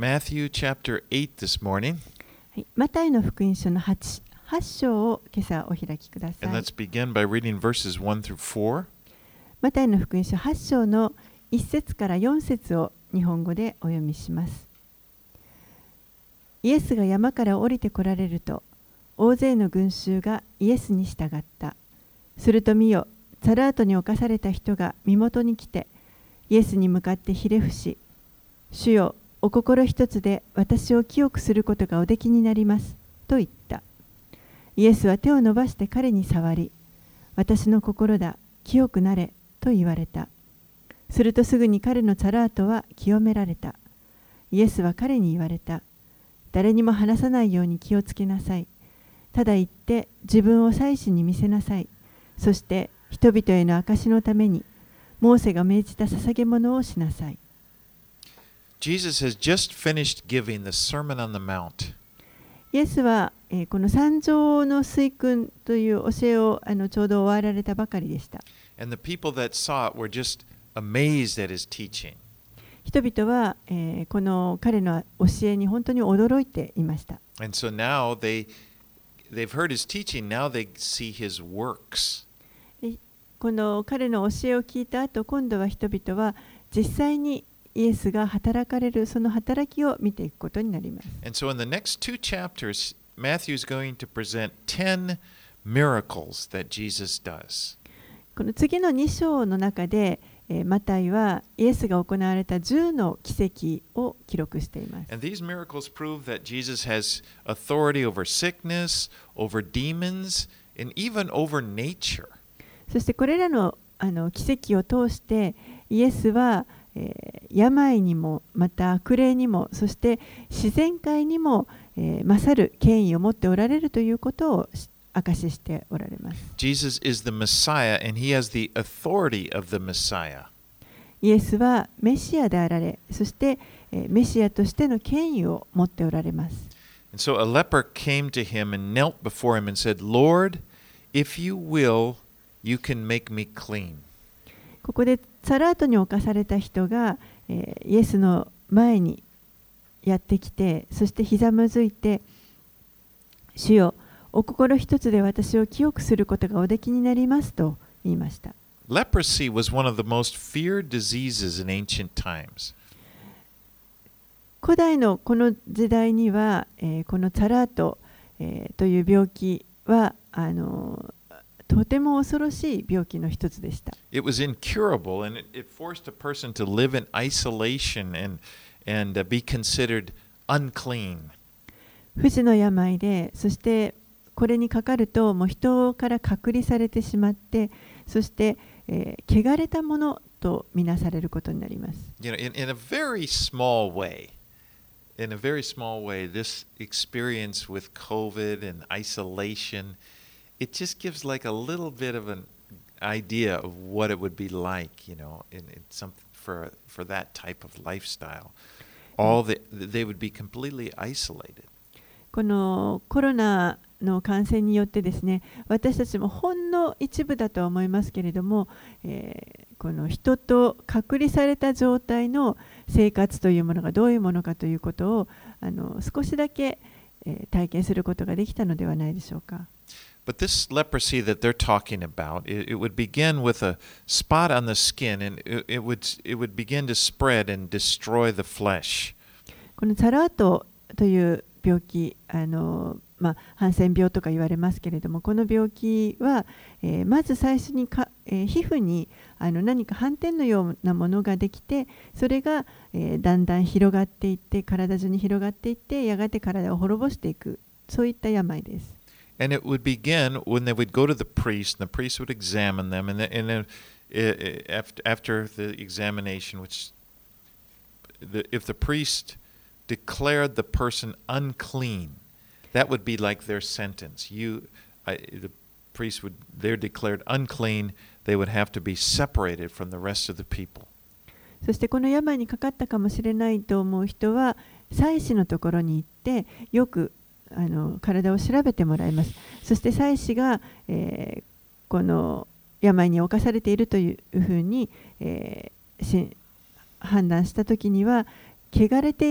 Matthew chapter 8 this morning. はい、マタイの福音書の 8章を今朝お開きくださ And い。 let's begin by reading verses 1 through 4. マタイの福音書8章の1節から4節を日本語でお読みします。イエスが山から降りてこられると、大勢の群衆がイエスに従った。すると見よ、サラートに侵された人が身元に来て、イエスに向かってひれ伏し、主よ、お心一つで私を清くすることがおできになりますと言った。イエスは手を伸ばして彼に触り、私の心だ、清くなれと言われた。するとすぐに彼のサラートは清められた。イエスは彼に言われた。誰にも話さないように気をつけなさい。ただ言って自分を祭司に見せなさい。そして人々への証のためにモーセが命じた捧げ物をしなさい。 Jesus has just finished giving the Sermon on the Mount. イエスは、この山上の水訓という教えをちょうど終わられたばかりでした。 And the people that saw it were just amazed at his teaching. 人々は、この彼の教えに本当に驚いていました。 And so now they've heard his teaching, now they see his works. この彼の教えを聞いた後、今度は人々は実際にイエスが働かれるその働きを見ていくことになります。 And so in the next two chapters, Matthew is going to present 10 miracles that Jesus does. この次の2章の中で、マタイはイエスが行われた10の奇跡を記録しています。 And these miracles prove that Jesus has authority over sickness, over demons, and even over nature. そしてこれらの奇跡を通してイエスは、病にもまた悪霊にもそして自然界にも、勝る権威を持っておられるということを証ししておられます。 Jesus is the Messiah and he has the authority of the Messiah. イエスはメシアであられ、そして、メシアとしての権威を持っておられます。 And so a leper came to him and knelt before him and said, Lord, if you will, you can make me clean. ここでサラートに侵された人が、イエスの前にやってきて、そしてひざまずいて、主よ、お心一つで私を清くすることがおできになりますと言いました。 Leprosy was one of the most feared diseases in ancient times. 古代のこの時代には、このサラート、という病気はとても恐ろしい病気の一つでした。 It was incurable and it forced a person to live in isolation and be considered unclean. 不治の病で、そしてこれにかかるともう人から隔離されてしまって、そして、汚れたものとみなされることになります。 You know, in a very small way, this experience with COVID and isolation, it just gives like a little bit of an idea of what it would be like, you know, in some for that type of lifestyle. They would be completely isolated. このコロナの感染によってですね、私たちもほんの一部だとは思いますけれども、この人と隔離された状態の生活というものがどういうものかということを少しだけ、体験することができたのではないでしょうか。 But this leprosy that they're talking about, it would begin with a spot on the skin, and it would begin to spread and destroy the flesh. このサラートという病気、ハンセン病とか言われますけれども、この病気は、まず最初に皮膚に何か斑点のようなものができて、それが、だんだん広がっていって、体中に広がっていって、やがて体を滅ぼしていく、そういった病です。 And it would begin when they would go to the priest, and the priest would examine them, and then after the examination, if the priest declared the person unclean, that would be like their sentence. The priest they're declared unclean, they would have to be separated from the rest of the people. そしてこの病にかかったかもしれないと思う人は、祭司のところに行って、よく体を調べてもらいます。そして祭司が、この病に侵されているというふうに、判断したときには、汚れている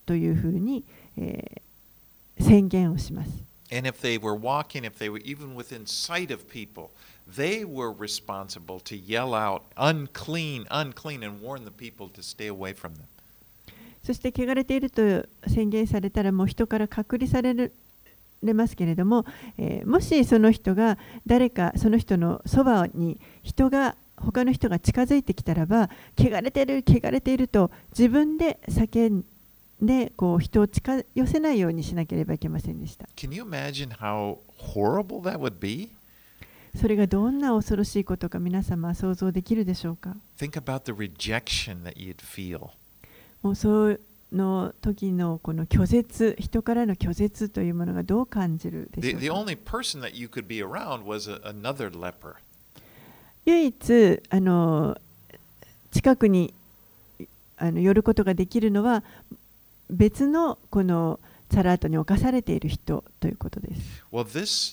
というふうに、宣言をします。 And if they were walking, if they were even within sight of people, they were responsible to yell out, unclean, unclean, and warn the people to stay away from them. そして汚れていると宣言されたらもう人から隔離されますけれども、もしその人が誰かその人のそばに他の人が近づいてきたらば、汚れている汚れていると自分で叫んでこう人を近寄せないようにしなければいけませんでした。 Can you imagine how horrible that would be? それがどんな恐ろしいことか皆様は想像できるでしょうか。 Think about the rejection that you'd feel. もうその時のこの拒絶、人からの拒絶というものがどう感じるでしょう The か。 only person that you could be around was another leper. 唯一近くに寄ることができるのは別のこのサラートに侵されている人ということです。 Well, this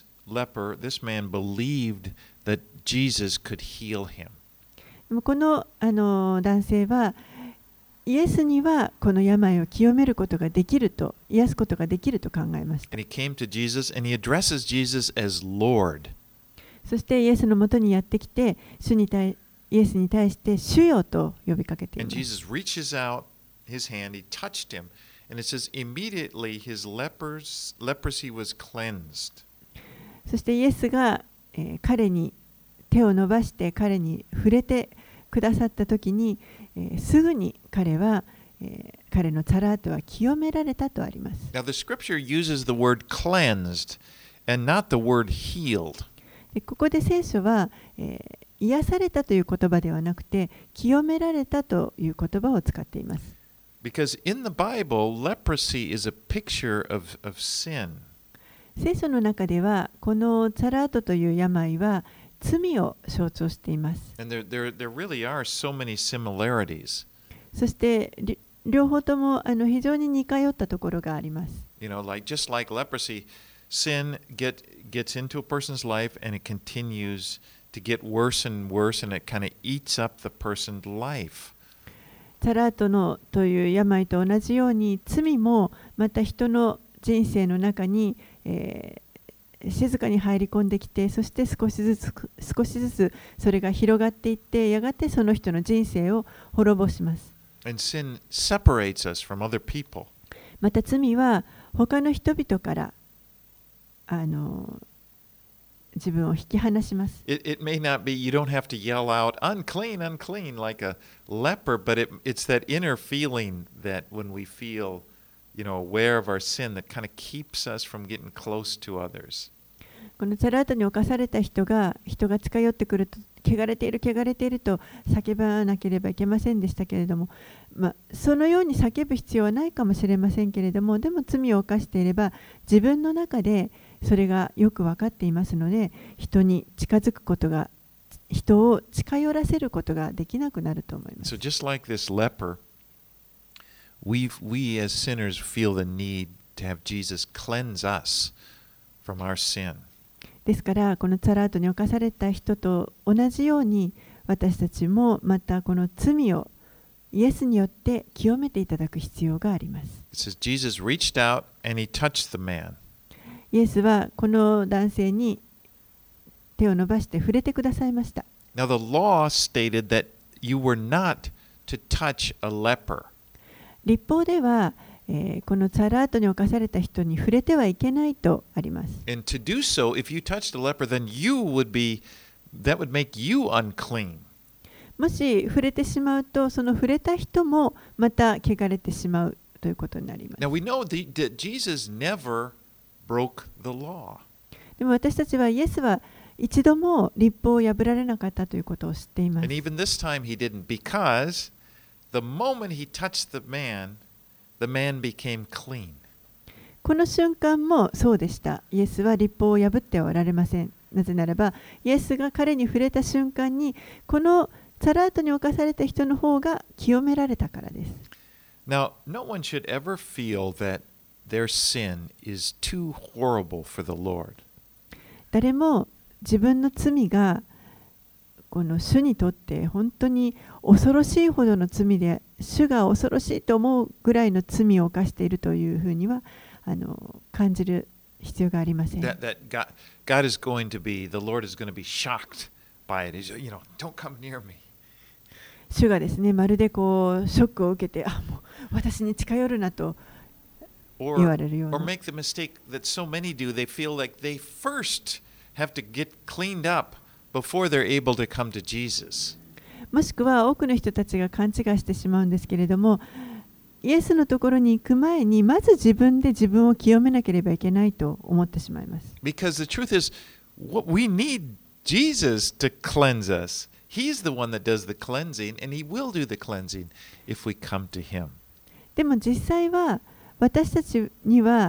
man believed that Jesus could heal him. でもこの男性はイエスにはこの病を清めることができると、癒すことができると考えました。 And he came to Jesus and he addresses Jesus as Lord. そしてイエスのもとにやってきて、イエスに対して主よと呼びかけていま And す。 Jesus reaches out his hand, he touched him, and it says, immediately his leprosy was cleansed. そしてイエスが、彼に手を伸ばして彼に触れてくださったときに、すぐに彼は、彼のサラートは清められたとあります。 Now, the scripture uses the word cleansed and not the word healed. でここで聖書は、癒されたという言葉ではなくて清められたという言葉を使っています。 Because in the Bible, leprosy is a picture of sin. 聖書の中ではこのサラートという病は罪を象徴しています。 And there really are so many similarities. そして両方とも非常に似通ったところがあります。 You know, just like leprosy, sin gets into a person's life and it continues to get worse and worse and it kind of eats up the person's life. サラートという病と同じように罪もまた人の人生の中に、静かに入り込んできて、そして少しずつそれが広がっていって、やがてその人の人生を滅ぼします。 And sin separates us from other people. また罪は他の人々から自分を引き離します。 It may not be, you don't have to yell out, unclean, unclean, like a leper, but it's that inner feeling that when we feel, aware of our sin, that kind of keeps us from getting close to others. このサラートに侵された人が近寄ってくると、汚れている汚れていると叫ばなければいけませんでしたけれども、そのように叫ぶ必要はないかもしれませんけれども、でも罪を犯していれば自分の中でそれがよく分かっていますので、人に近づくことが、人を近寄らせることができなくなると思います。 So just like this leper, we as sinners feel the need to have Jesus cleanse us from our sin. ですからこのサラートに侵された人と同じように、私たちもまたこの罪をイエスによって清めていただく必要があります。 It says Jesus reached out and he touched the man. イエスはこの男性に手を伸ばして触れてくださいました。 Now the law stated that you were not to touch a leper. 律法では、このサラートに侵された人に触れてはいけないとあります。 And to do so, if you touched a leper, then that would make you unclean. もし触れてしまうと、その触れた人もまた汚れてしまうということになります。 Now we know that Jesus never broke the law. でも私たちはイエスは一度も律法を破られなかったということを知っています。 And even this time he didn't, because the moment he touched the man became clean. この瞬間もそうでした。イエスは律法を破ってはおられません。なぜならば、イエスが彼に触れた瞬間に、このサラートに侵された人の方が清められたからです。 Now, no one should ever feel that their sin is too horrible for the Lord. 誰も自分の罪がこの主にとって本当に恐ろしいほどの罪で、主が恐ろしいと思うぐらいの罪を犯しているというふうには感じる必要がありません。 That God is going to be, the Lord is going to be shocked by it. He's, don't come near me. 主がですね、まるでこうショックを受けて、もう私に近寄るなと言われるよう Or な。 make the mistake that so many do. They feel like they first have to get cleaned up before they're able to come to Jesus. もしくは多くの人たちが勘違いしてしまうんですけれども、イエスのところに行く前にまず自分で自分を清めなければいけないと思ってしまいます。 Because the truth is, we need Jesus to cleanse us. He's the one that does the cleansing, and He will do the cleansing if we come to Him. でも実際は私たちには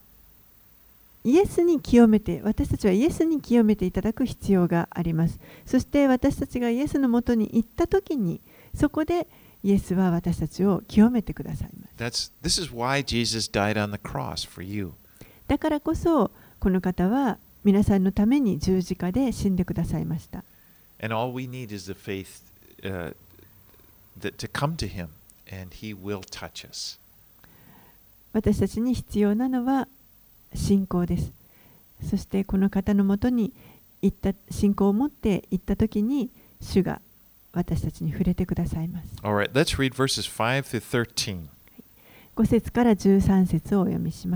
私たちはイエスに清めていただく必要があります。そして私たちがイエスのもとに行ったときに、そこでイエスは私たちを清めてくださいます。 This is why Jesus died on the cross for you. だからこそ、この方は皆さんのために十字架で死んでくださいました。 And all we need is the faith to come to Him, and He will touch us. 私たちに必要なのは信仰です。そしてこの方のもとに信仰を持って行ったときに、主が私たちに触れてくださいます。 All right, let's read verses 5 through 13. 5節から13節をお読みします。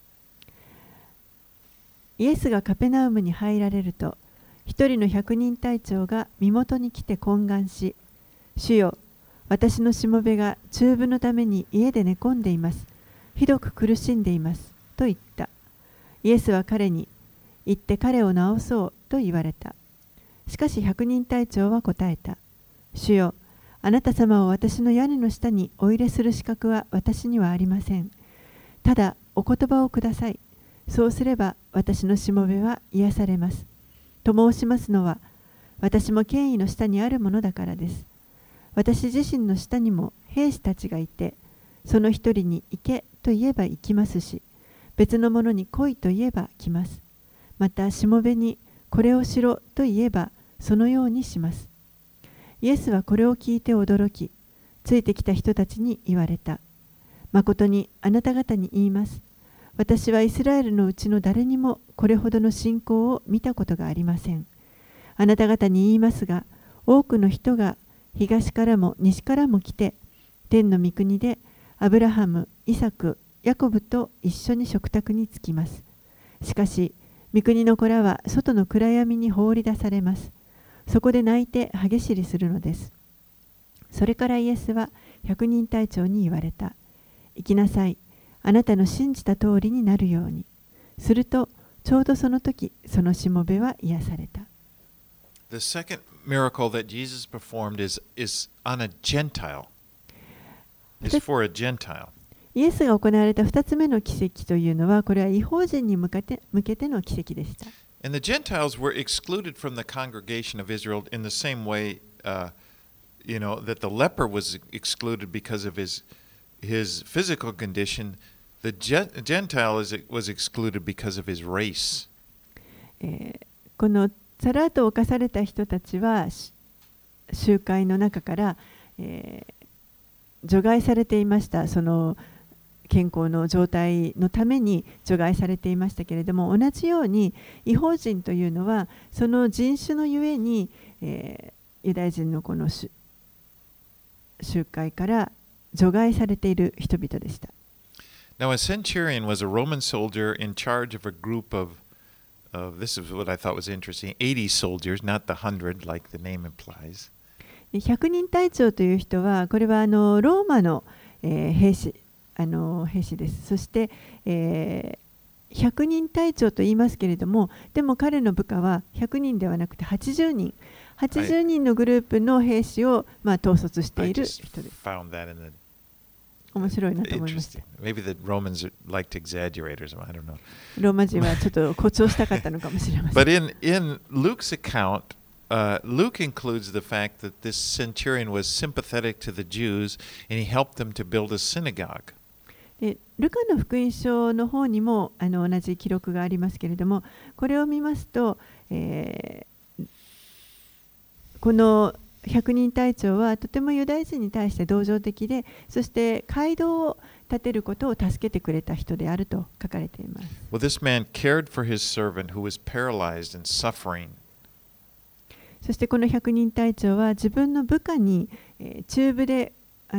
イエスがカペナウムに入られると、一人の百人隊長が身元に来て懇願し、主よ、私のしもべが中風のために家で寝込んでいます。ひどく苦しんでいます。と言った。イエスは彼に、行って彼を治そうと言われた。しかし百人隊長は答えた。主よ、あなた様を私の屋根の下にお入れする資格は私にはありません。ただお言葉をください。そうすれば私のしもべは癒されます。と申しますのは、私も権威の下にあるものだからです。私自身の下にも兵士たちがいて、その一人に行けと言えば行きますし、別のものに来いと言えば来ます。またしもべにこれをしろと言えばそのようにします。イエスはこれを聞いて驚き、ついてきた人たちに言われた。まことにあなた方に言います。私はイスラエルのうちの誰にもこれほどの信仰を見たことがありません。あなた方に言いますが、多くの人が東からも西からも来て、天の御国でアブラハム、イサク、ヤコブと一緒に食卓につきます。しかし、御国の子らは外の暗闇に放り出されます。そこで泣いて歯ぎしりするのです。それからイエスは百人隊長に言われた。行きなさい。あなたの信じた通りになるように。すると、ちょうどその時、そのしもべは癒された。 The second miracle that Jesus performed is on a Gentile. Is for a Gentile. イエスが行われた2つ目の奇跡というのは、これは異邦人に向けての奇跡でした。 And the Gentiles were excluded from the congregation of Israel in the same way, that the leper was excluded because of his physical condition. The Gentile was excluded because of his race. このサラートを犯された人たちは集会の中から、除外されていました。その健康の状態のために除外されていましたけれども、同じように異邦人というのはその人種のゆえに、ユダヤ人のこの集会から除外されている人々でした。 Now, a centurion was a Roman soldier in charge of a group of this is what I thought was interesting, 80 soldiers, not the 100 like the name implies. 100人隊長という人は、これはローマの、兵士です。そして、100人隊長と言いますけれども、でも彼の部下は100人ではなくて80人。80人のグループの兵士を、統率している人です。面白いなと思いました。 Maybe the Romans liked to exaggerate or something, I don't know. ローマ人はちょっと誇張したかったのかもしれません。 But in Luke's account, Luke includes the fact that this centurion was sympathetic to the Jews and he helped them to build a synagogue. ルカの福音書の方にも同じ記録がありますけれども、これを見ますと、 この百人隊長はとてもユダヤ人に対して同情的で、そして街道を建てることを助けてくれた人であると書かれています。 Well, this man cared for his servant who was paralyzed and suffering. そしてこの百人隊長は自分の部下に、中部で、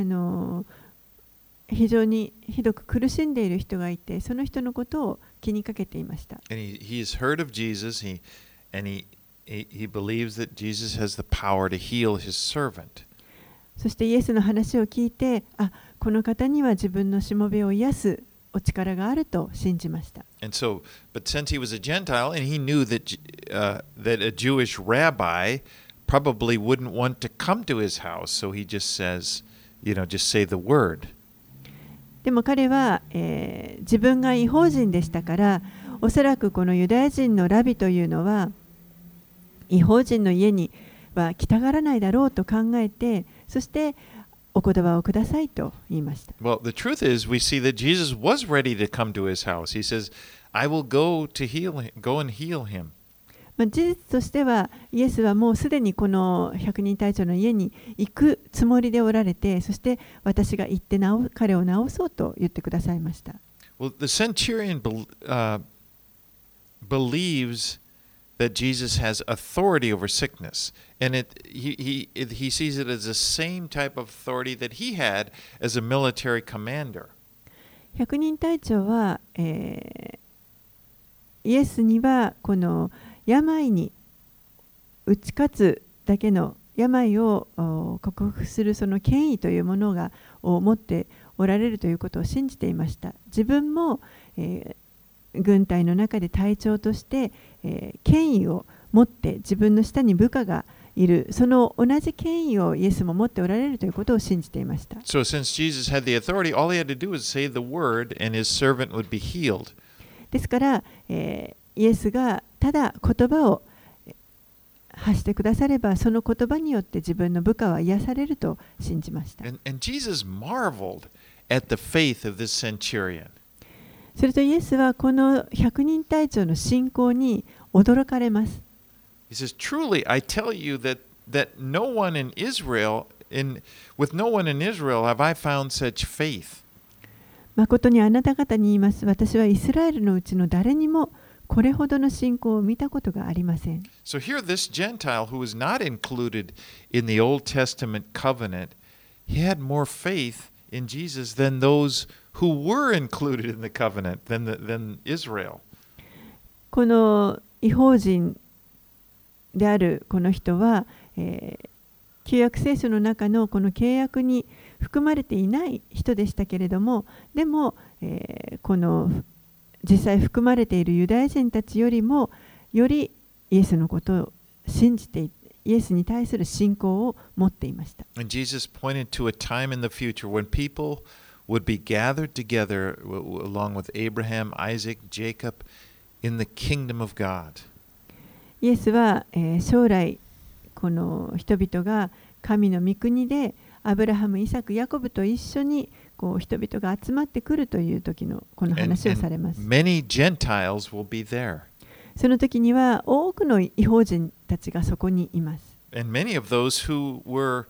非常にひどく苦しんでいる人がいて、その人のことを気にかけていました。 And he has heard of Jesus, and he believes that Jesus has the power to heal his servant. そしてイエスの話を聞いて、この方には自分のしもべを癒すお力があると信じました。 And so, but since he was a Gentile and he knew that a Jewish rabbi probably wouldn't want to come to his house, so he just says, just say the word. でも彼は、自分が異邦人でしたから、おそらくこのユダヤ人のラビというのは異邦人の家には来たがらないだろうと考えて、そしてお言葉をくださいと言いました。 Well, the truth is, we see that Jesus was ready to come to his house. He says, I will go and heal him. 事実としては、イエスはもうすでにこの百人隊長の家に行くつもりでおられて、そして私が行って彼を治そうと言ってくださいました。 Well, the centurion believes that Jesus has authority over sickness, and he sees it as the same type of authority that he had as a military commander. 百人隊長は、イエスにはこの病に打ち勝つだけの病を克服するその権威というものを持っておられるということを信じていました。自分も、軍隊の中で隊長として、権威を持って自分の下に部下がいる、その同じ権威をイエスも持っておられるということを信じていました。 So since Jesus had the authority, all he had to do was say the word and his servant would be healed. ですから、イエスがただ言葉を発してくだされば、その言葉によって自分の部下は癒されると信じました。 And Jesus marveled at the faith of this centurion. するとイエスはこの百人隊長の信仰に驚かれます。 He says, "Truly, I tell you that no one in Israel, with no one in Israel, have I found such faith." 誠にあなた方に言います。私はイスラエルのうちの誰にもこれほどの信仰を見たことがありません。 So here, this Gentile who was not included in the Old Testament covenant, he had more faith in Jesus than those who were included in the covenant, than Israel. この異邦人であるこの人は、旧約聖書の中のこの契約に含まれていない人でしたけれども、でも、この実際含まれているユダヤ人たちよりもよりイエスのことを信じてイエスに対する信仰を持っていました。 And Jesus pointed to a time in the future when people would be gathered together along with Abraham, Isaac, Jacob in the kingdom of God. イエスは、将来この人々が神の御国でアブラハム、イサク、ヤコブと一緒にこう人々が集まってくるという時のこの話をされます。 Many Gentiles will be there. その時には多くの異邦人たちがそこにいます。 And many of those who were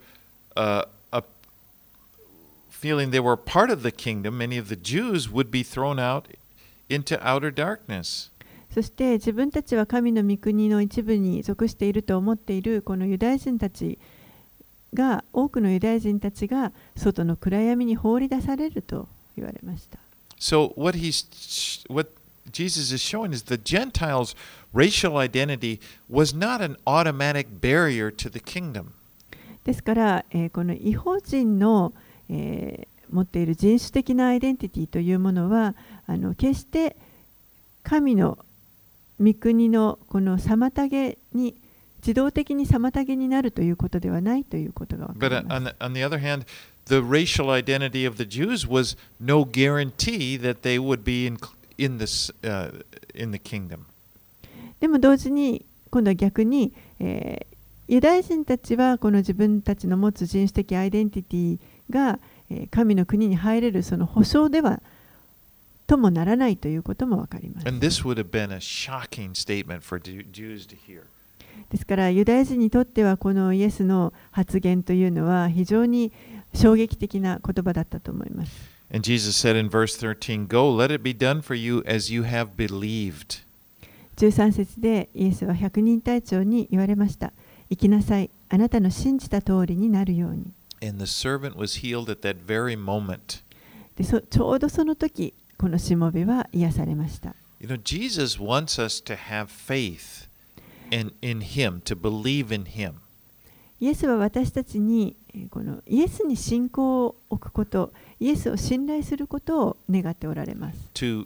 feeling they were part of the kingdom, many of the Jews would be thrown out into outer darkness. そして自分たちは神の御国の一部に属していると思っているこのユダヤ人たちが、多くのユダヤ人たちが外の暗闇に放り出されると言われました。 So what Jesus is showing is the Gentiles' racial identity was not an automatic barrier to the kingdom. ですから、この異邦人の、持っている人種的なアイデンティティというものは決して神の御国のこの妨げに自動的に妨げになるということではないということが分かります。 But on the other hand, the racial identity of the Jews was no guarantee that they would be in the kingdom. でも同時に今度は逆に、ユダヤ人たちはこの自分たちの持つ人種的アイデンティティが、神の国に入れるその保証ではともならないということも分かります。 And this would have been a shocking statement for Jews to hear. ですからユダヤ人にとってはこのイエスの発言というのは非常に衝撃的な言葉だったと思います。 And Jesus said in verse 13, Go, let it be done for you as you have believed. 13節でイエスは百人隊長に言われました。行きなさい。あなたの信じた通りになるように。 And the servant was healed at that very moment. でちょうどその時、このしもべは癒されました。 You know, Jesus wants us to have faith in Him, to believe in Him. イエスは私たちにこのイエスに信仰を置くこと、イエスを信頼することを願っておられます。 To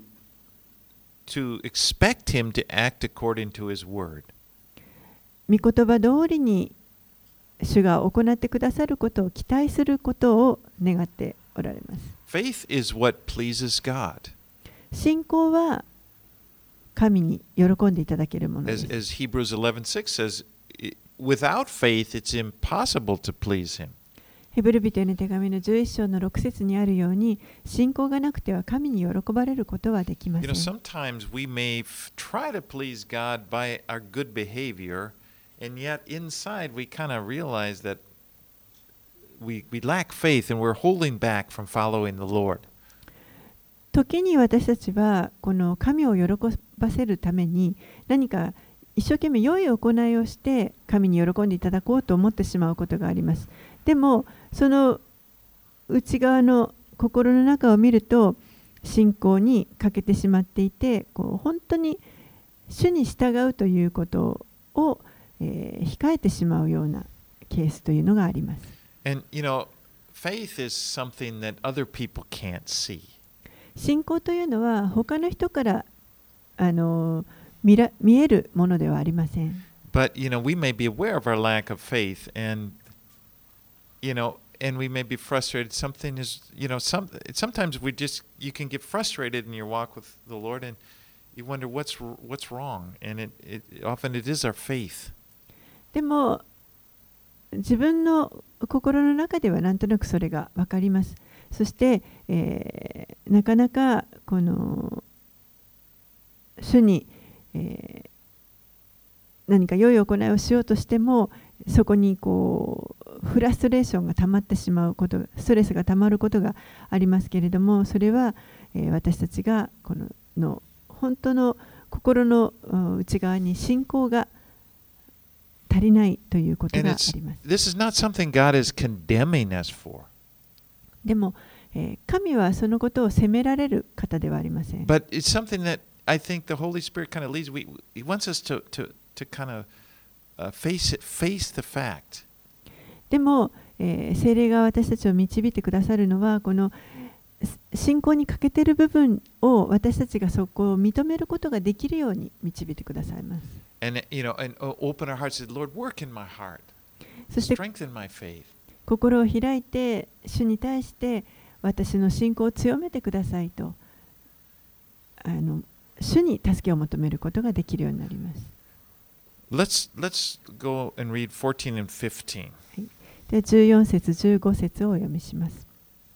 expect Him to act according to His word. 御言葉通りに主が行ってくださることを期待することを願っておられます。 Faith is what pleases God. 信仰は神に喜んでいただけるものです。 As Hebrews 11:6 says, without faith it's impossible to please Him. ヘブル人への手紙の11章の6節にあるように、信仰がなくては神に喜ばれることはできません。 You know, sometimes we may try to please God by our good behavior, and yet inside we kind of realize that we lack faith and we're holding back from following the Lord. 時に私たちはこの神を喜ばせるために何か一生懸命良い行いをして神に喜んでいただこうと思ってしまうことがあります。でもその内側の心の中を見ると信仰に欠けてしまっていて、本当に主に従うということを、控えてしまうようなケースというのがあります。 And you know, faith is something that other people can't see. 信仰というのは他の人から見えるものではありません。 But you know, we may be aware of our lack of faith, and you know, and we may be frustrated. Something is, you know, sometimes you can get frustrated in your walk with the Lord, and you wonder what's wrong, and often it is our faith. でも自分の心の中ではなんとなくそれが分かります。そして、なかなかこの主に、何か良い行いをしようとしてもそこにフラストレーションが溜まってしまうこと、ストレスが溜まることがありますけれども、それは、私たちがこの本当の心の内側に信仰が足りないということがあります。 This is not something God is condemning us for. でも、神はそのことを責められる方ではありません。 But it's something that I think the Holy Spirit kind of leads. He wants us to kind of face the fact. でも、聖霊が私たちを導いてくださるのは、この信仰に欠けている部分を私たちがそこを認めることができるように導いてくださいます。 And you know, and open our hearts. Lord, work in my heart. そして Strengthen my faith. 心を開いて主に対して私の信仰を強めてくださいと主に助けを求めることができるようになります。 Let's go and read 14 and 15. で14節15節をお読みします。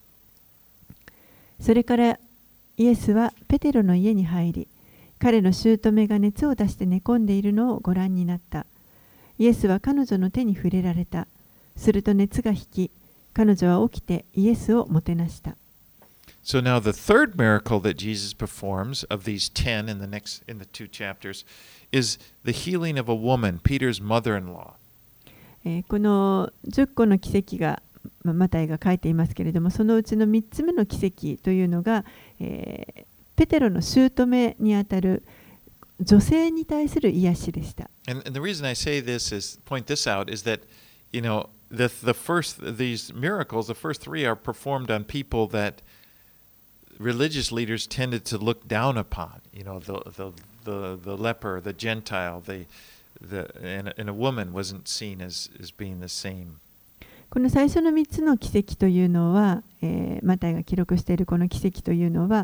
それからイエスはペテロの家に入り、彼の姑が熱を出して寝込んでいるのをご覧になった。イエスは彼女の手に触れられた。すると熱が引き、彼女は起きてイエスをもてなした。 So now the third miracle that Jesus performs of these 10 in the two chapters is the healing of a woman, Peter's mother-in-law. この10個の奇跡がマタイが書いていますけれども、そのうちの3つ目の奇跡というのが、ペテロの姑にあたる女性に対する癒しでした。 And the reason I say this is point this out is that, you know, these miracles, the first three are performed on people that religious leaders tended to look down upon. You know, the leper, the Gentile, and a woman wasn't seen as being the same. この最初の3つの奇跡というのは、マタイが記録しているこの奇跡というのは、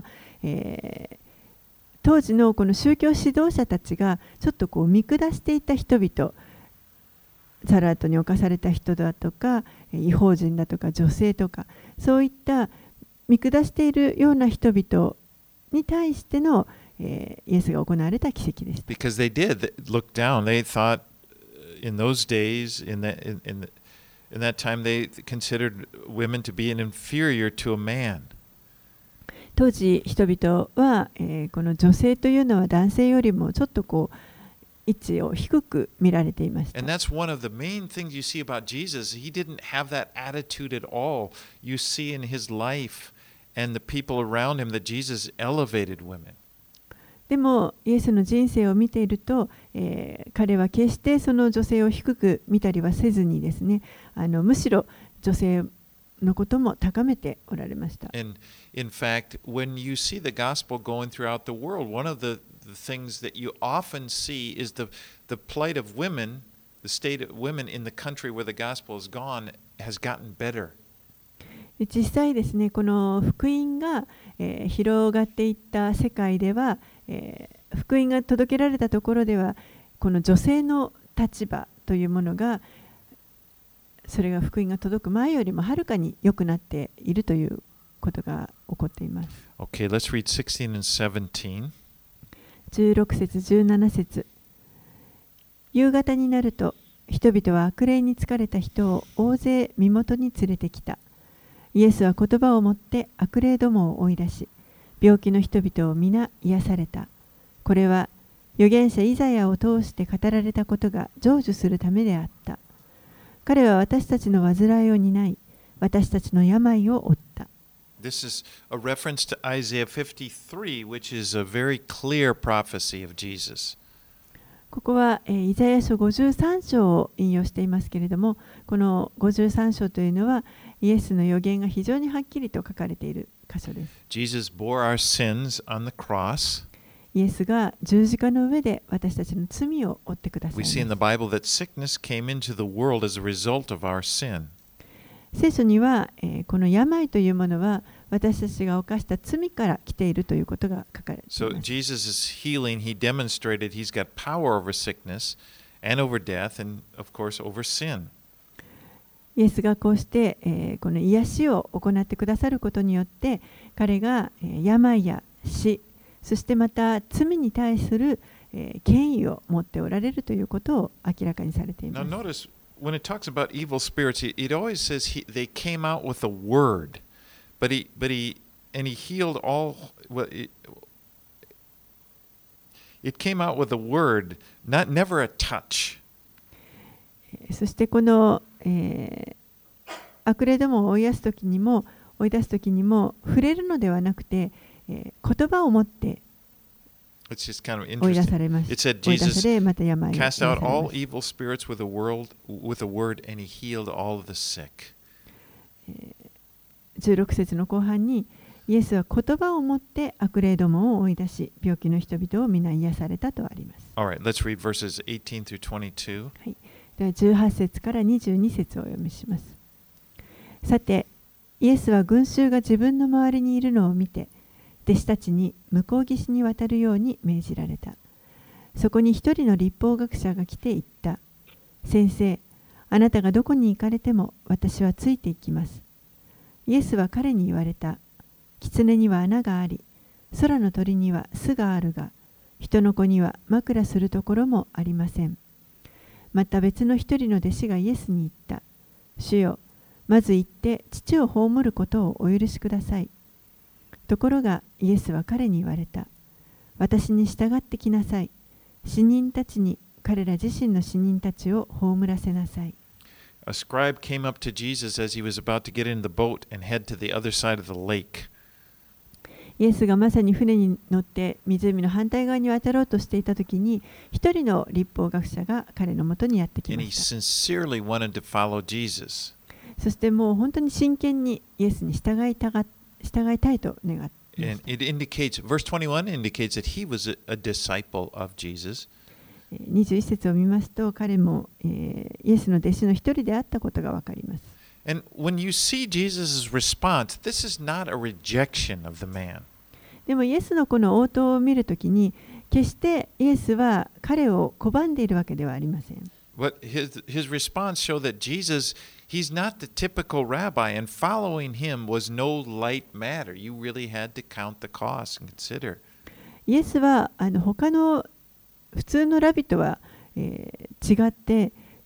当時のこの宗教指導者たちがちょっと見下していた人々、サラートに侵された人だとか、異邦人だとか女性とか、そういった見下しているような人々に対しての、イエスが行われた奇跡です。 Because they did look down. They thought in those days, in that time, they considered women to be an inferior to a man. 当時人々は、この女性というのは男性よりもちょっとこう位置を低く見られていました。 And that's one of the main things you see about Jesus. He didn't have that attitude at all. You see in his life and the people around him that Jesus elevated women. でもイエスの人生を見ていると、彼は決してその女性を低く見たりはせずにですね、むしろ女性のことも高めておられました。 And in fact, when you see the gospel going throughout the world, one of the things that you often see is the plight of women, the state of women in the country where the gospel has gone has gotten better. 実際ですね、この福音が、広がっていった世界では、福音が届けられたところでは、この女性の立場というものが、それが福音が届く前よりもはるかに良くなっているということが起こっています。 Okay, let's read 16 and 17. 16節17節。夕方になると、人々は悪霊に疲れた人を大勢身元に連れてきた。イエスは言葉をもって悪霊どもを追い出し、病気の人々を皆癒された。これは預言者イザヤを通して語られたことが成就するためであった。彼は私たちの患いを担い、私たちの病を負った。 This is a reference to Isaiah 53, which is a very clear prophecy of Jesus. ここはイザヤ書53章を引用していますけれども、この53章というのはイエスの予言が非常にはっきりと書かれている箇所です。 Jesus bore our sins on the cross. イエスが十字架の上で私たちの罪を負ってください We ま see in す。 the Bible that sickness came into the world as a result of our sin. 聖書には、この病というものは私たちが犯した罪から来ているということが書かれてい So ます。 Jesus' healing, he demonstrated he's got power over sickness and over death and of course over sin. イエスがこうして、この癒しを行ってくださることによって彼が、病や死そしてまた罪に対する、権威を持っておられるということを明らかにされていま Now す。 notice when it talks about evil spirits, it always says they came out with a word, but he healed all. Well, it came out with a word, never a touch. そしてこの、悪霊どもを追い出すときにも触れるのではなくて、言葉を持って追 It's just kind of い出 interesting. されま It した。 said 追い出 Jesus されまた病を癒 cast され out ま all した。 evil spirits with a word, and he healed all of the sick. 16節の後半にイエスは言葉を持って悪霊どもを追い出し病気の人々を皆癒されたとあります。 All right, let's read verses 18 through 22. では18節から22節をお読みします。さて、イエスは群衆が自分の周りにいるのを見て、弟子たちに向こう岸に渡るように命じられた。そこに一人の律法学者が来て言った。先生、あなたがどこに行かれても私はついていきます。イエスは彼に言われた。狐には穴があり、空の鳥には巣があるが、人の子には枕するところもありません。また別の一人の弟子がイエスに言った。主よ、まず行って父を葬ることをお許しください。ところがイエスは彼に言われた。私に従ってきなさい。死人たちに彼ら自身の死人たちを葬らせなさい。 A scribe came up to Jesus as he was about to get in the boat and head to the other side of the lake. イエスがまさに船に乗って湖の反対側に渡ろうとしていたときに、一人の律法学者が彼のもとにやってき And ま he した。 sincerely wanted to follow Jesus. そしてもう本当に真剣にイエスに従いたいと願っていま And した。 it indicates, verse 21 indicates that he was a disciple of Jesus. 21節を見ますと、彼も、イエスの弟子の一人であったことがわかります。 And when you see Jesus' response, this is not a rejection of the man. でもイエスのこの応答を見るときに、決してイエスは彼を拒んでいるわけではありません。 But his response showed that Jesus, he's not the typical rabbi, and following him was no light matter. You really had to count the cost and consider. イエスは他の普通のラビとは、違って、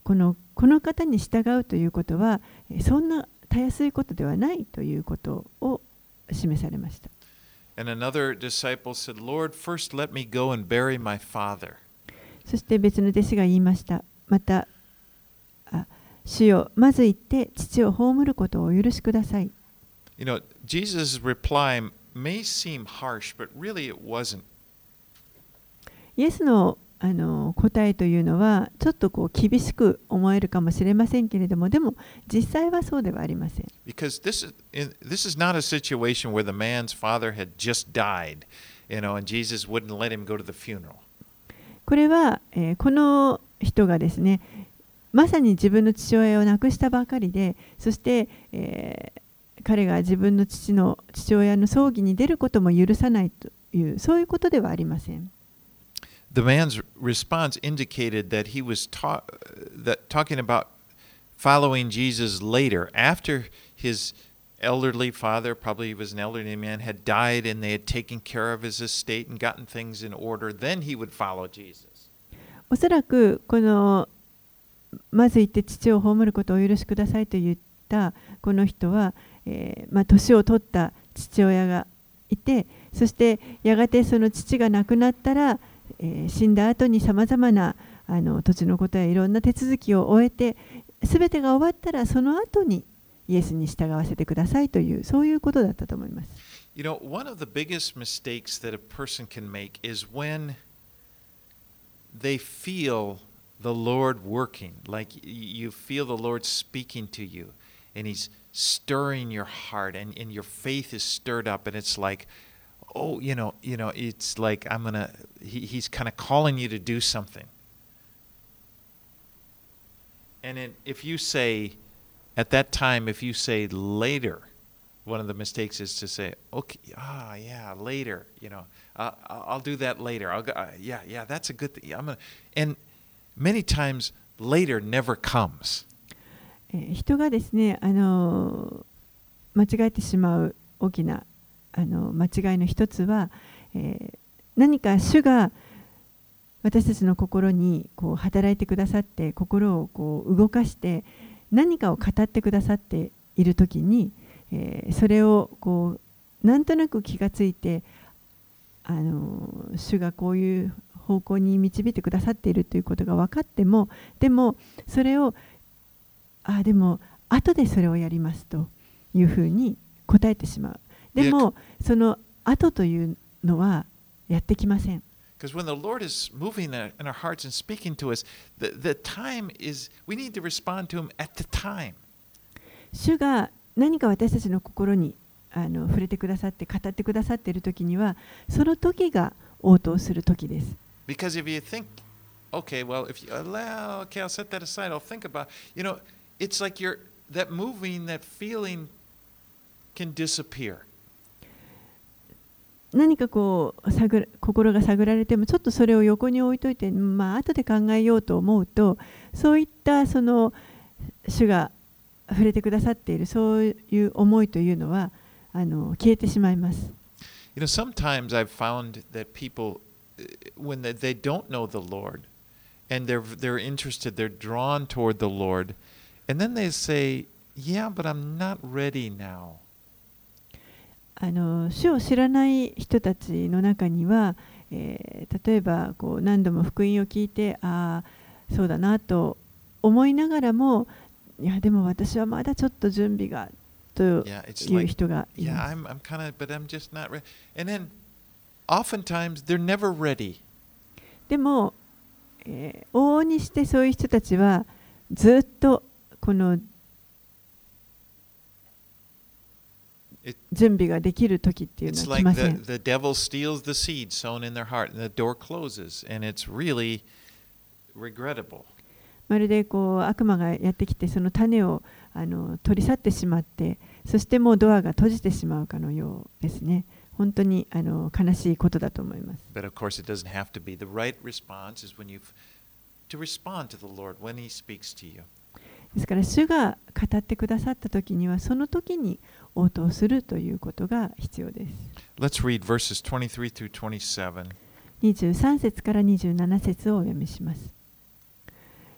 この方に従うということはそんなたやすいことではないということを示されました。 And another disciple said, Lord, first let me go and bury my father. そして別の弟子が言いました。また、主よ、まず行って父を葬ることをお許しください。 You know, Jesus' reply may seem harsh, but really it wasn't. イエスの答えというのはちょっと厳しく思えるかもしれませんけれども、でも実際はそうではありません。 Because this is not a situation where the man's father had just died, and Jesus wouldn't let him go to the funeral. これは、この人がですね、まさに自分の父親を亡くしたばかりで、そして、彼が自分の父親の葬儀に出ることも許さないという、そういうことではありません。 The man's response indicated that he was talking about following Jesus later, after his elderly father, probably he was an elderly man, had died and they had taken care of his estate and gotten things in order, then he would follow Jesus. おそらくまず行って父を葬ることをお許しくださいと言ったこの人は、年を取った父親がいて、そしてやがてその父が亡くなったら、死んだ後にさまざまな土地のことやいろんな手続きを終えて、すべてが終わったらその後にイエスに従わせてくださいという、そういうことだったと思います。 You know, one of the biggest mistakes that a person can make is when they feel the Lord working, like you feel the Lord speaking to you, and He's stirring your heart, and your faith is stirred up, and it's like, oh, it's like He's kind of calling you to do something. And if you say, at that time, if you say later, one of the mistakes is to say, okay, yeah, later, I'll do that later. Yeah, that's a good thing. And many times later never comes. 人がですね、間違えてしまう大きな間違いの一つは、何か主が私たちの心に働いてくださって、心を動かして何かを語ってくださっているときに、それをなんとなく気がついて、主がこういう方向に導いてくださっているということが分かっても、でもそれをでも後でそれをやりますというふうに答えてしまう。でもその後というのはやってきません。 Because when the Lord is moving in our hearts and speaking to us, the time is, we need to respond to Him at the time. 主が何か私たちの心に触れてくださって語ってくださっているときには、その時が応答する時です。 Because if you think, okay, well, okay, I'll set that aside. I'll think about, it's like that moving, that feeling can disappear. 何か心が探られてもちょっとそれを横に置いといて、後で考えようと思うと、そういった主が触れてくださっているそういう思いというのは消えてしまいます。 Sometimes I've found that people, when they don't know the Lord and they're interested, they're drawn toward the Lord, and then they say, "Yeah, but I'm not ready now." 主を知らない人たちの中には、例えば何度も福音を聞いて、そうだなと思いながらも、いやでも私はまだちょっと準備がという人がいます。 Yeah, I'm kind of, but I'm just not ready. And then, oftentimes, they're never ready. でも、往々にしてそういう人たちはずっとこの準備ができる時っていうのは来ません。 It's like the devil steals the seed sown in their heart, and the door closes, and it's really regrettable. まるで悪魔がやってきてその種を取り去ってしまって、そしてもうドアが閉じてしまうかのようですね。本当に悲しいことだと思います。 But of course, it doesn't have to be. The right response is when to respond to the Lord when He speaks to you. ですから主が語ってくださった時にはその時に応答するということが必要です。 Let's read verses 23 through 27. 23節から27節をお読みします。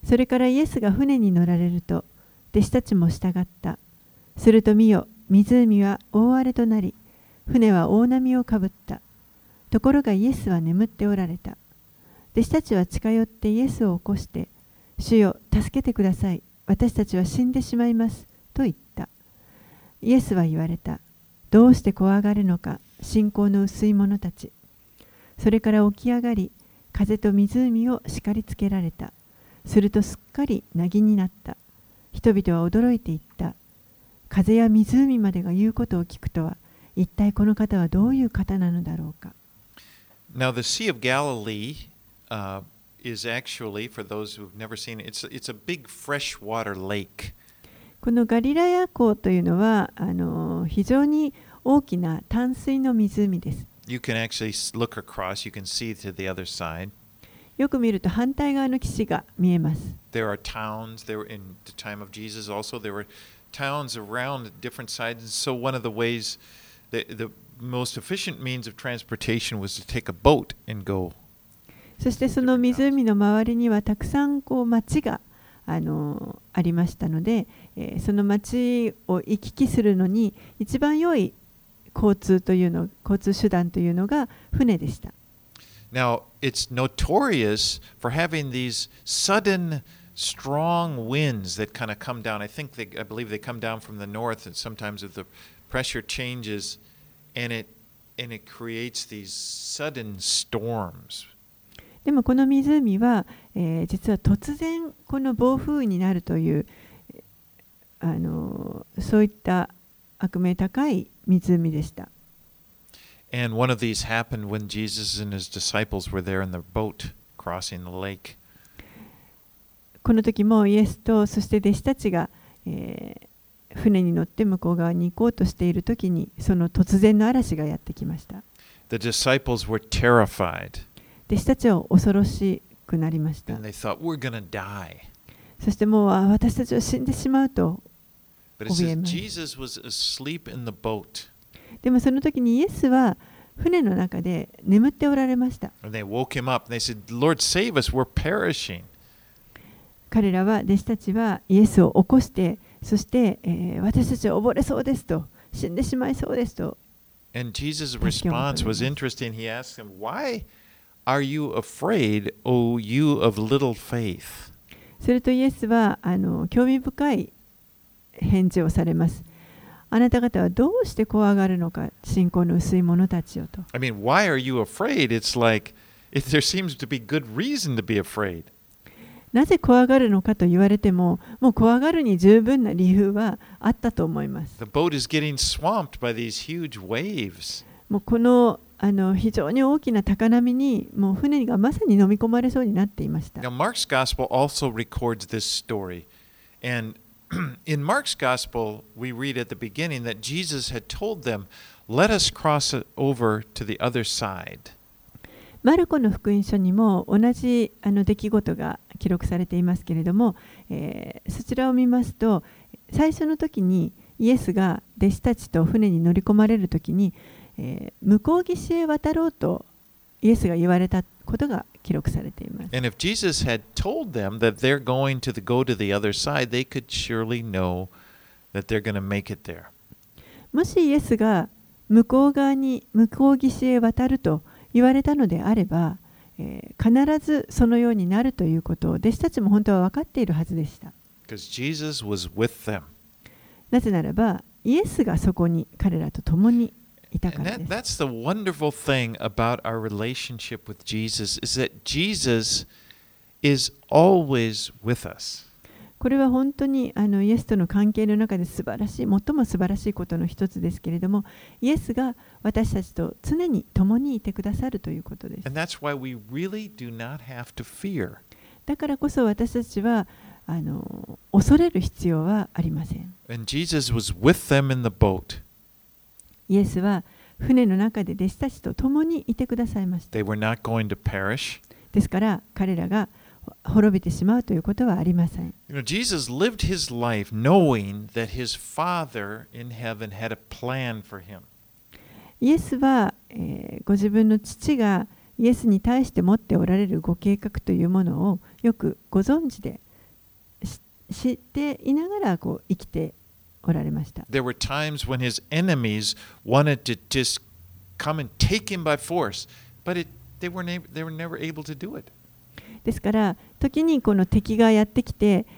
それからイエスが船に乗られると、弟子たちも従った。すると見よ、湖は大荒れとなり、船は大波をかぶった。ところがイエスは眠っておられた。弟子たちは近寄ってイエスを起こして、主よ、助けてください。私たちは死んでしまいます。と言った。イエスは言われた。どうして怖がるのか、信仰の薄い者たち。それから起き上がり、風と湖を叱りつけられた。するとすっかり凪になった。人々は驚いていった。風や湖までが言うことを聞くとは、一体この方はどういう方なのだろうか。 Now, the Sea of Galilee is actually, for those who've never seen it, it's a big freshwater lake. このガリラヤ湖というのは非常に大きな淡水の湖です。 You can actually look across, you can see to the other side. よく見ると反対側の岸が見えます。 There are towns, there were in the time of Jesus also, there were towns around different sides. And so one of the ways, the most efficient means of transportation was to take a boat and go. そしてその湖の周りにはたくさん町がありましたので、その町を行き来するのに一番良い交通手段というのが船でした。 Now, it's notorious for having these sudden, strong winds that kind of come down. I believe they come down from the north, and sometimes if the pressure changes, and it creates these sudden storms. でもこの湖は、実は突然この暴風雨になるというそういった悪名高い湖でした。 And one of these happened when Jesus and his disciples were there in the boat crossing the lake. この時もイエスとそして弟子たちが、船に乗って向こう側に行こうとしている時にその突然の嵐がやってきました。 The disciples were terrified. 弟子たちは恐ろしくなりました。 And they thought, we're going to die. そしてもう私たちは死んでしまうと But it says Jesus was asleep in the boat. でもその時にイエスは船の中で眠っておられました。 And they woke him up and they said, Lord, save us, we're perishing. 彼らは弟子たちはイエスを起こして、そして、私たちは溺れそうですと、死んでしまいそうですと。 And Jesus' response was interesting. He asked them, Why are you afraid, O you of little faith? するとイエスは興味深い返事をされます。あなた方はどうして怖がるのか、信仰の薄い者たちよと。 I mean, why are you afraid? It's like there seems to be good reason to be afraid. なぜ怖がるのかと言われても、もう怖がるに十分な理由はあったと思います。 The boat is getting swamped by these huge waves. もうこの非常に大きな高波にもう船がまさに飲み込まれそうになっていました。 Now, Mark's Gospel also records this story. And in Mark's Gospel, we read at the beginning that Jesus had told them, Let us cross over to the other side. マルコの福音書にも同じ出来事が記録されていますけれども、そちらを見ますと、最初の時にイエスが弟子たちと船に乗り込まれる時に、向こう岸へ渡ろうとイエスが言われたことが記録されています。 And if Jesus had told them that they're going to go to the other side, they could surely know that they're going to make it there. もしイエスが向こう岸へ渡ると言われたのであれば、必ずそのようになるということを弟子たちも本当は分かっているはずでした。 Because Jesus was with them. なぜならば、イエスがそこに彼らと共にいたか And らです。 that's the wonderful thing about our relationship with Jesus is that Jesus is always with us. これは本当にイエスとの関係の中で最も素晴らしいことの一つですけれども、イエスが私たちと常に共にいてくださるということです。 And that's why we really do not have to fear. だからこそ私たちは恐れる必要はありません。 And Jesus was with them in the boat. イエスは船の中で弟子たちと共にいてくださいました。 They were not going to perish. ですから彼らが滅びてしまうということはありません。 You know, Jesus lived his life knowing that his Father in heaven had a plan for him. イエスは、ご自分の父がイエスに対して持っておられるご計画というものをよくご存知でしていながらこう生きておられました。 There were times when his enemies wanted to just come and take him by force, but they were never able to do it. ですから時にこの敵がやってきて、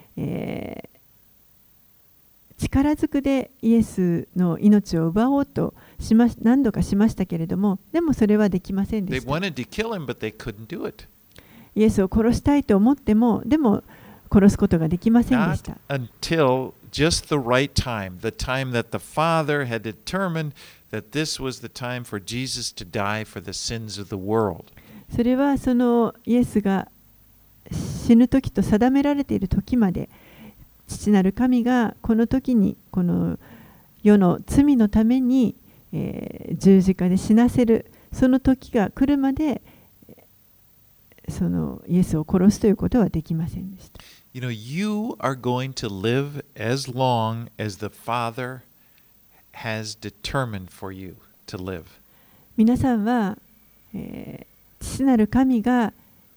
力ずくでイエスの命を奪おうと何度かしましたけれども、でもそれはできませんで They した。 wanted to kill him, but they couldn't do it. イエスを殺したいと思っても、でも殺すことができませんでし Not た。 until just the right time, the time that the Father had determined that this was the time for Jesus to die for the sins of the world. それはそのイエスが死ぬ時と定められている時まで、父なる神がこの時にこの世の罪のために、十字架で死なせるその時が来るまで、そのイエスを殺すということはできませんでした。 You know, you are going to live as long as the Father has determined for you to live. 皆さんは、父なる神が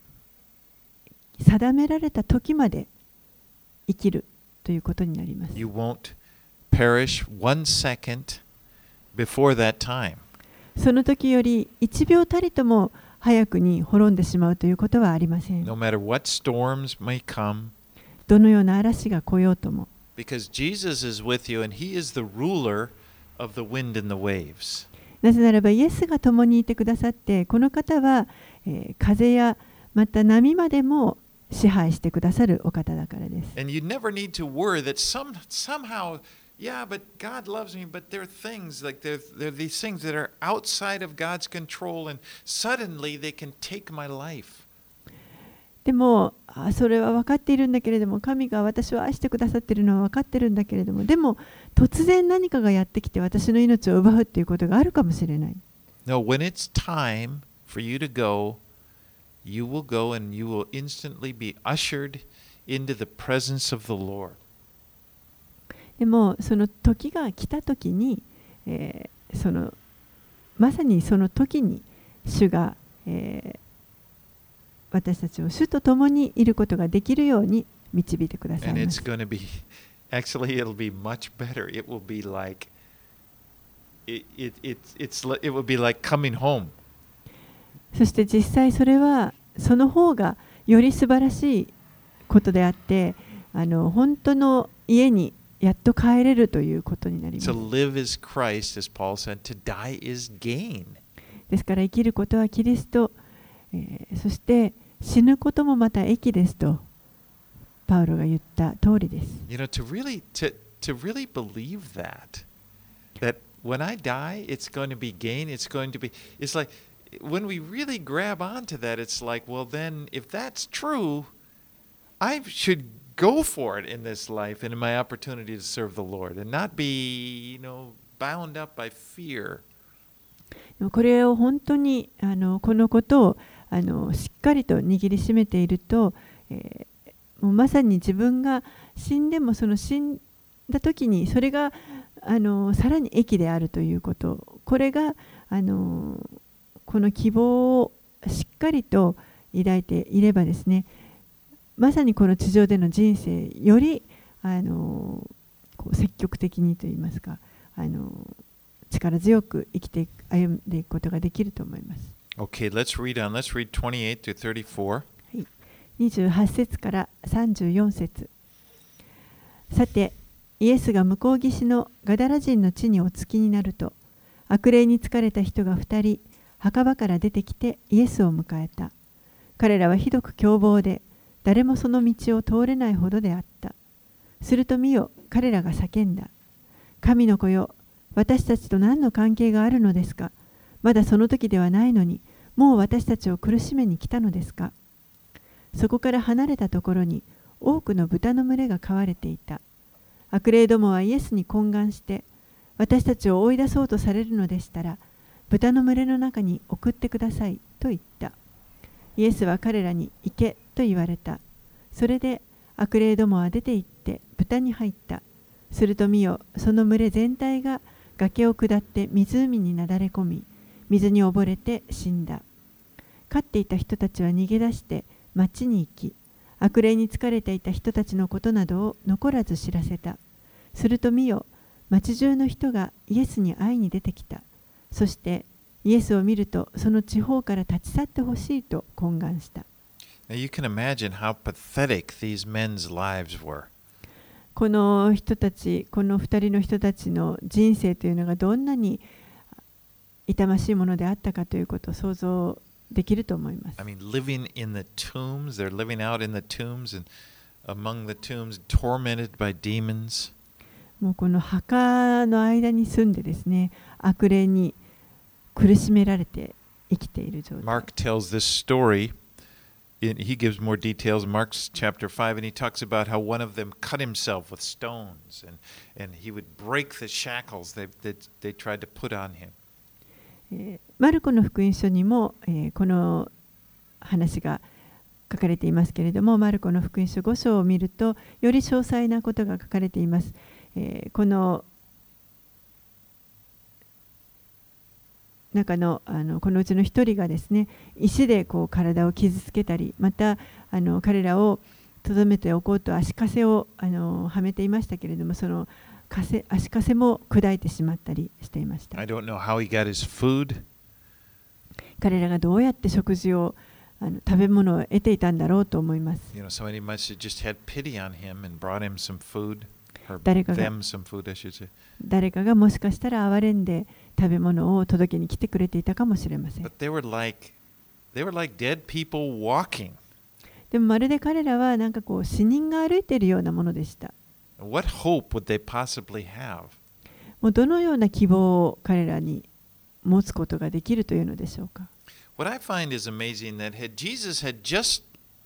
定められた時まで生きるということになります。 You won't perish 1 second before that time. その時より1秒たりとも早くに滅んでしまうということはありません。 No matter what storms may come, どのような嵐が来ようとも。 because Jesus is with you and He is the ruler of the wind and the waves. なぜならばイエスが共にいてくださって、この方は、風やまた波までも支配してくださるお方だからです。 And you never need to worry that somehow, yeah, but God loves me, but there are things like there are these things that are outside of God's control, and suddenly they can take my life. でもそれは分かっているんだけれども、神が私を愛してくださっているのは分かっているんだけれども、でも突然何かがやってきて私の命を奪うということがあるかもしれない。 No, when it's time for you to go, you will go and you will instantly be ushered into the presence of the Lord. でもその時が来た時に、まさにその時に主が、私たちを主と共にいることができるように導いてください And ま it's す。 going to be, actually, it'll be much better. It will be like, it will be like coming home. そして実際それはその方がより素晴らしいことであって、本当の家にやっと帰れるということになります。 To live is Christ, as Paul said, to die is gain. ですから生きることはキリスト、そして死ぬこともまた益ですとパウロが言った通りです。 You know, to really believe that when I die, it's going to be gain. It's like when we really grab onto that, it's like, well, then if that's true, I should go for it in this life and in my opportunity to serve the Lord and not be, bound up by fear. これを本当にこのことをしっかりと握りしめていると、もうまさに自分が死んでもその死んだ時にそれがさらに益であるということ、これがこの希望をしっかりと抱いていればですね、まさにこの地上での人生より積極的にといいますか、力強く生きて歩んでいくことができると思います。 Okay, let's read on. Let's read 28 to 34. 28節から34節。さて、イエスが向こう岸のガダラ人の地にお着きになると、悪霊に疲れた人が2人、墓場から出てきてイエスを迎えた。彼らはひどく凶暴で、誰もその道を通れないほどであった。すると見よ、彼らが叫んだ。神の子よ、私たちと何の関係があるのですか。まだその時ではないのに、もう私たちを苦しめに来たのですか。そこから離れたところに多くの豚の群れが飼われていた。悪霊どもはイエスに懇願して、私たちを追い出そうとされるのでしたら、豚の群れの中に送ってくださいと言った。イエスは彼らに行けと言われた。それで悪霊どもは出て行って豚に入った。すると見よ、その群れ全体が崖を下って湖になだれ込み、水に溺れて死んだ。飼っていた人たちは逃げ出して町に行き、 悪霊に疲れていた人たちのことなどを残らず知らせた。すると見よ、町中の人がイエスに会いに出てきた。そしてイエスを見るとその地方から立ち去ってほしいと懇願した。 Now you can imagine how pathetic these men's lives were. この人たち、この2人の人たちの人生というのがどんなに痛ましいものであったかということを想像できると思います。 I mean, living in the tombs, they're living out in the tombs and among the tombs, tormented by demons. もうこの墓の間に住んでですね、悪霊に苦しめられて生きている状態。 Mark tells this story. He gives more details. Mark's chapter 5, and he talks about how one of them cut himself with stones, and he would break the shackles they tried to put on him. マルコの福音書にも、この話が書かれていますけれども、マルコの福音書5章を見るとより詳細なことが書かれています。この中のこのうちの一人がですね、石でこう体を傷つけたり、また彼らをとどめておこうと足かせをはめていましたけれども、その足かせも砕いてしまったりしていました。 I don't know how he got his food. 彼らがどうやって食事を食べ物を得ていたんだろうと思います。 You know, somebody must have just had pity on him and brought him some food, or 誰かが them some food, I should say. 誰かがもしかしたら憐れんで食べ物を届けに来てくれていたかもしれません。 But they were like dead people walking. でもまるで彼らはなんかこう死人が歩いているようなものでした。 What hope would they possibly have? もうどのような希望を彼らに持つことができるというのでしょうか。 What I find is amazing that Jesus had just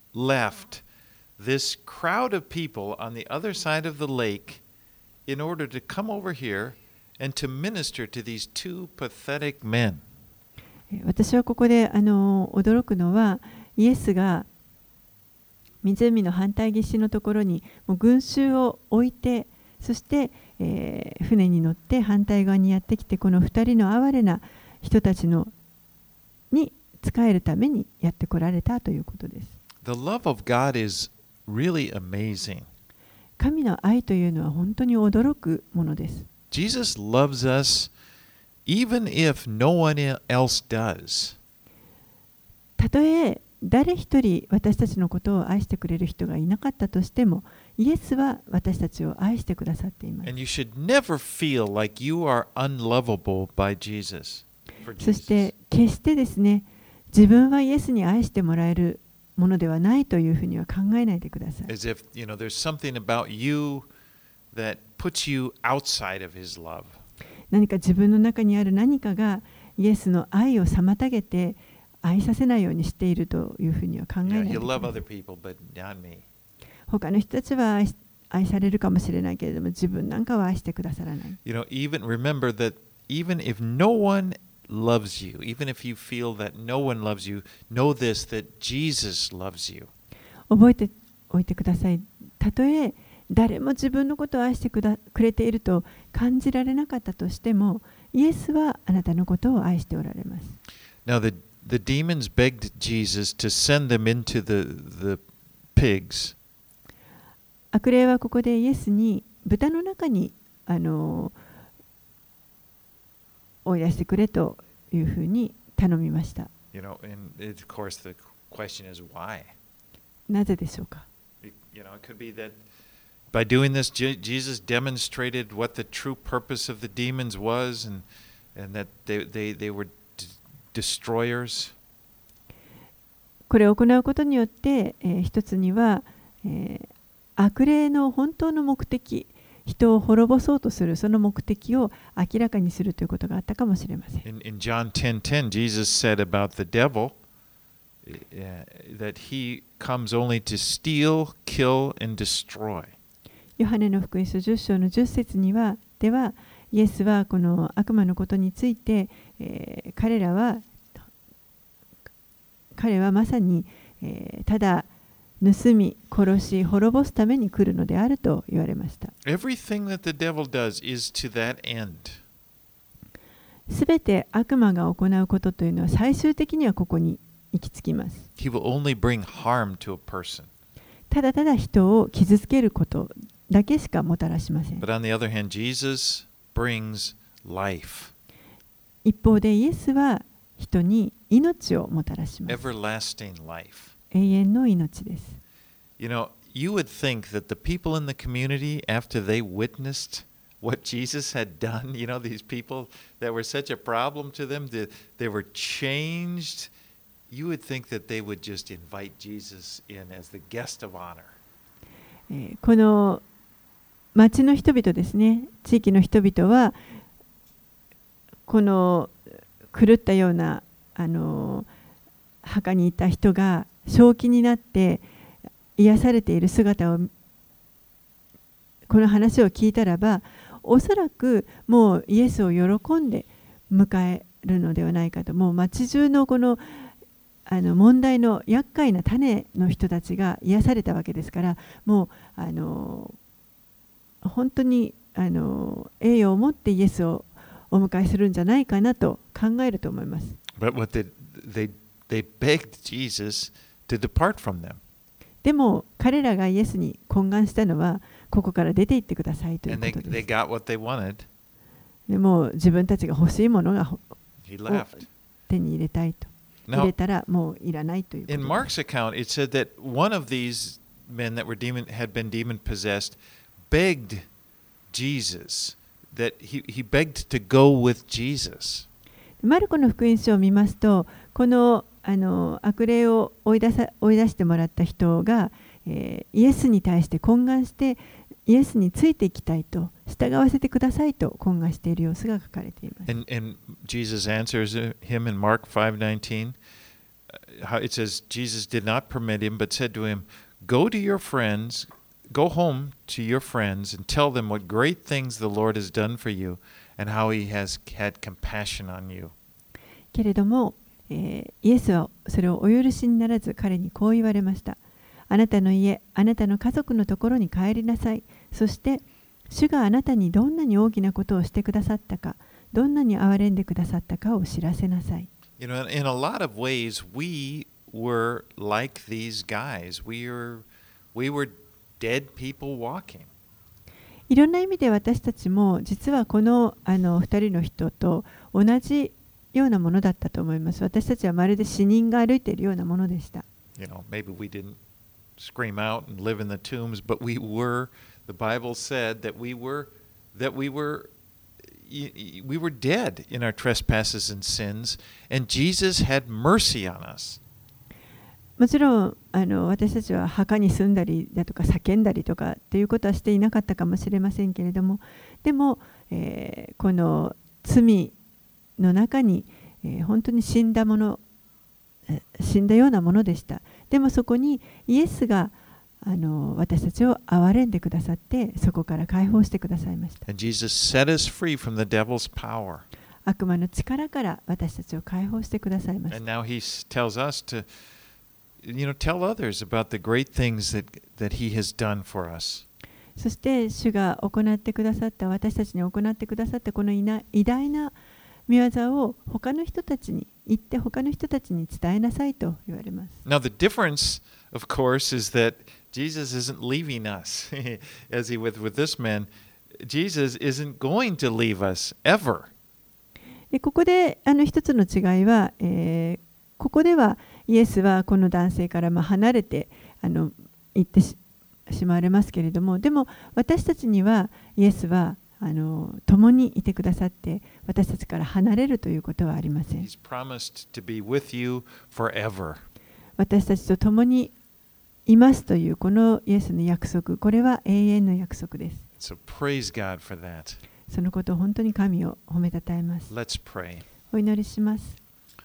left this crowd of people on the other side of the lake in order to come over here and to minister to these two pathetic men. 私はここで驚くのは、イエスが湖の反対岸のところにもう群衆を置いて、そして、船に乗って反対側にやってきて、この2人の哀れな人たちに仕えるためにやってこられたということです。 The love of God is really amazing. 神の愛というのは本当に驚くものです。 Jesus loves us even if no one else does. たとえ誰一人私たちのことを愛してくれる人がいなかったとしても、イエスは私たちを愛してくださっています。 And you should never feel like you are unlovable by Jesus. そして決してですね、自分はイエスに愛してもらえるものではないというふうには考えないでください。 As if, you know, there's something about you that puts you outside of his love. 何か自分の中にある何かがイエスの愛を妨げて愛させないようにしているというふうには考えないで You くだ love さい。 other people, but not me. 他の人たちは愛されるかもしれないけれども、自分なんかは愛してくださらない。 You know, remember that even if no one loves you, even if you feel that no one loves you, know this, that Jesus loves you. 覚えておいてください。たとえ誰も自分のことを愛してくれていると感じられなかったとしても、イエスはあなたのことを愛しておられます。 Now, the demons begged Jesus to send them into the pigs. 悪霊はここでイエスに豚の中に追い出してくれというふうに頼みました。 You know, and of course the question is why? なぜでしょうか。 You know, it could be that by doing this, Jesus demonstrated what the true purpose of the demons was, and that they were destroyers. これを行うことによって、一つには、悪霊の本当の目的、人を滅ぼそうとするその目的を明らかにするということがあったかもしれません。 In John 10:10, Jesus said about the devil that he comes only to steal, kill, and destroy. ヨハネの福音書10章の10節には、では、イエスはこの悪魔のことについて、彼はまさに、ただ盗み、殺し、滅ぼすために来るのであると言われました。 Everything that the devil does is to that end. すべて悪魔が行うことというのは最終的にはここに行き着きます。 He will only bring harm to a person. ただただ人を傷つけることだけしかもたらしません。 But on the other hand, Jesus brings life, 一方でイエスは人に命をもたらします。 everlasting life. 永遠の命です。 You know, you would think that the people in the community, after they witnessed what Jesus had done, you know, these people that were such a problem to them, they were changed. You would think that they would just invite Jesus in as the guest of honor. この町の人々ですね、地域の人々はこの狂ったような墓にいた人が正気になって癒されている姿を、この話を聞いたらば、おそらくもうイエスを喜んで迎えるのではないかと。もう町中のこの問題の厄介な種の人たちが癒されたわけですから、もう本当に栄誉を持ってイエスをお迎えするんじゃないかなと考えると思います。 But what they begged Jesus to depart from them. でも彼らがイエスに懇願したのは、ここから出て行ってくださいという And こと they です。 got what they wanted. でも自分たちが欲しいものが He left. 手に入れたいと。入 Now, れたらもういらないということ in です。 Mark's account, it said that one of these men that had been demon possessed begged Jesus, that he begged to go with Jesus. マルコの福音書を見ますと、この悪霊を追い出してもらった人が、イエスに対して懇願してイエスについていきたいと、従わせてくださいと懇願している様子が書かれています。 And Jesus answers him in Mark 5:19. It says, Jesus did not permit him, but said to him, Go to your friends, go home to your friends, and tell them what great things the Lord has done for you, and how he has had compassion on you. けれども、イエスはそれをお許しにならず、彼にこう言われました。あなたの家、あなたの家族のところに帰りなさい。そして、主があなたにどんなに大きなことをしてくださったか、どんなに憐れんでくださったかを知らせなさい。 You know, in a lot of ways, we were like these guys. We were dead people walking. いろんな意味で私たちも実はこの2人の人と同じようなものだったと思います。私たちはまるで死人が歩いているようなものでした。 You know, maybe we didn't scream out and live in the tombs, but we were. The Bible said that we were dead in our trespasses and sins, and Jesus had mercy on us. もちろん私たちは墓に住んだりだとか叫んだりとかっていうことはしていなかったかもしれませんけれども、でも、この罪の中に、本当に死んだようなものでした。でもそこにイエスが私たちを憐れんでくださって、そこから解放してくださいました。 And Jesus set us free from the devil's power. 悪魔の力から私たちを解放してくださいました。 And now he tells us to, tell others about the great things that he has done for us. そして主が行ってくださった、私たちに行ってくださったこの偉大な御業を他の人たちに言って他の人たちに伝えなさいと言われます。 Now the difference, of course, is that Jesus isn't leaving us, as he with this man. Jesus isn't going to leave us ever. でここで一つの違いは、ここではイエスはこの男性から離れて行ってしまわれますけれども、でも私たちにはイエスは共にいてくださって私たちから離れるということはありません。 He's promised to be with you forever. 私たちと共にいますというこのイエスの約束、これは永遠の約束です。 So praise God for that. そのことを本当に神を褒めたたえます。 Let's pray. お祈りします。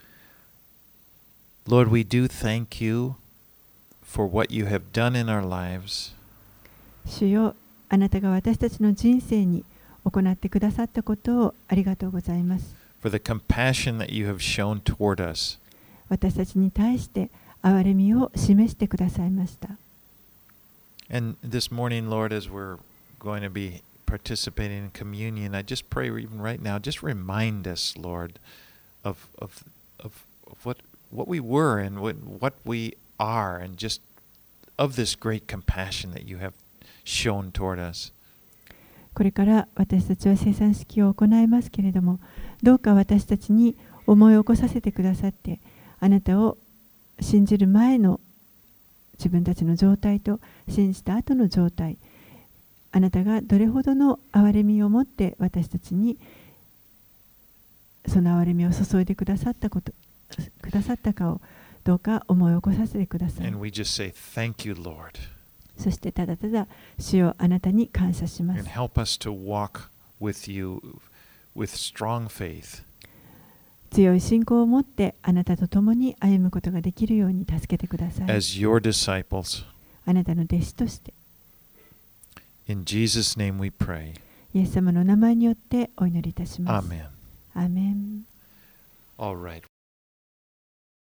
Lord, we do thank you for what you have done in our lives. 主よ、あなたが私たちの人生に行ってくださったことをありがとうございます。 For the compassion that you have shown toward us. 私たちに対して憐れみを示してくださいました。 And this morning, Lord, as we're going to be participating in communion, I just pray even right now, just remind us, Lord, of what we were and what we are, and just of this great compassion that you have shown toward us. これから私たちは生産式を行いますけれども、どうか私たちに思い起こさせてくださって、あなたを信じる前の自分たちの状態と信じた後の状態、あなたがどれほどの憐れみを持って私たちにその憐れみを注いでくださったかをどうか思い起こさせてください。 And we just say, Thank you, Lord. そしてただただ主よあなたに感謝します。 And help us to walk with you with strong faith. 強い信仰を持ってあなたと共に歩むことができるように助けてください。 As your disciples. あなたの弟子として。 In Jesus' name we pray. イエス様の名前によってお祈りいたします。 Amen. アーメン。 All right.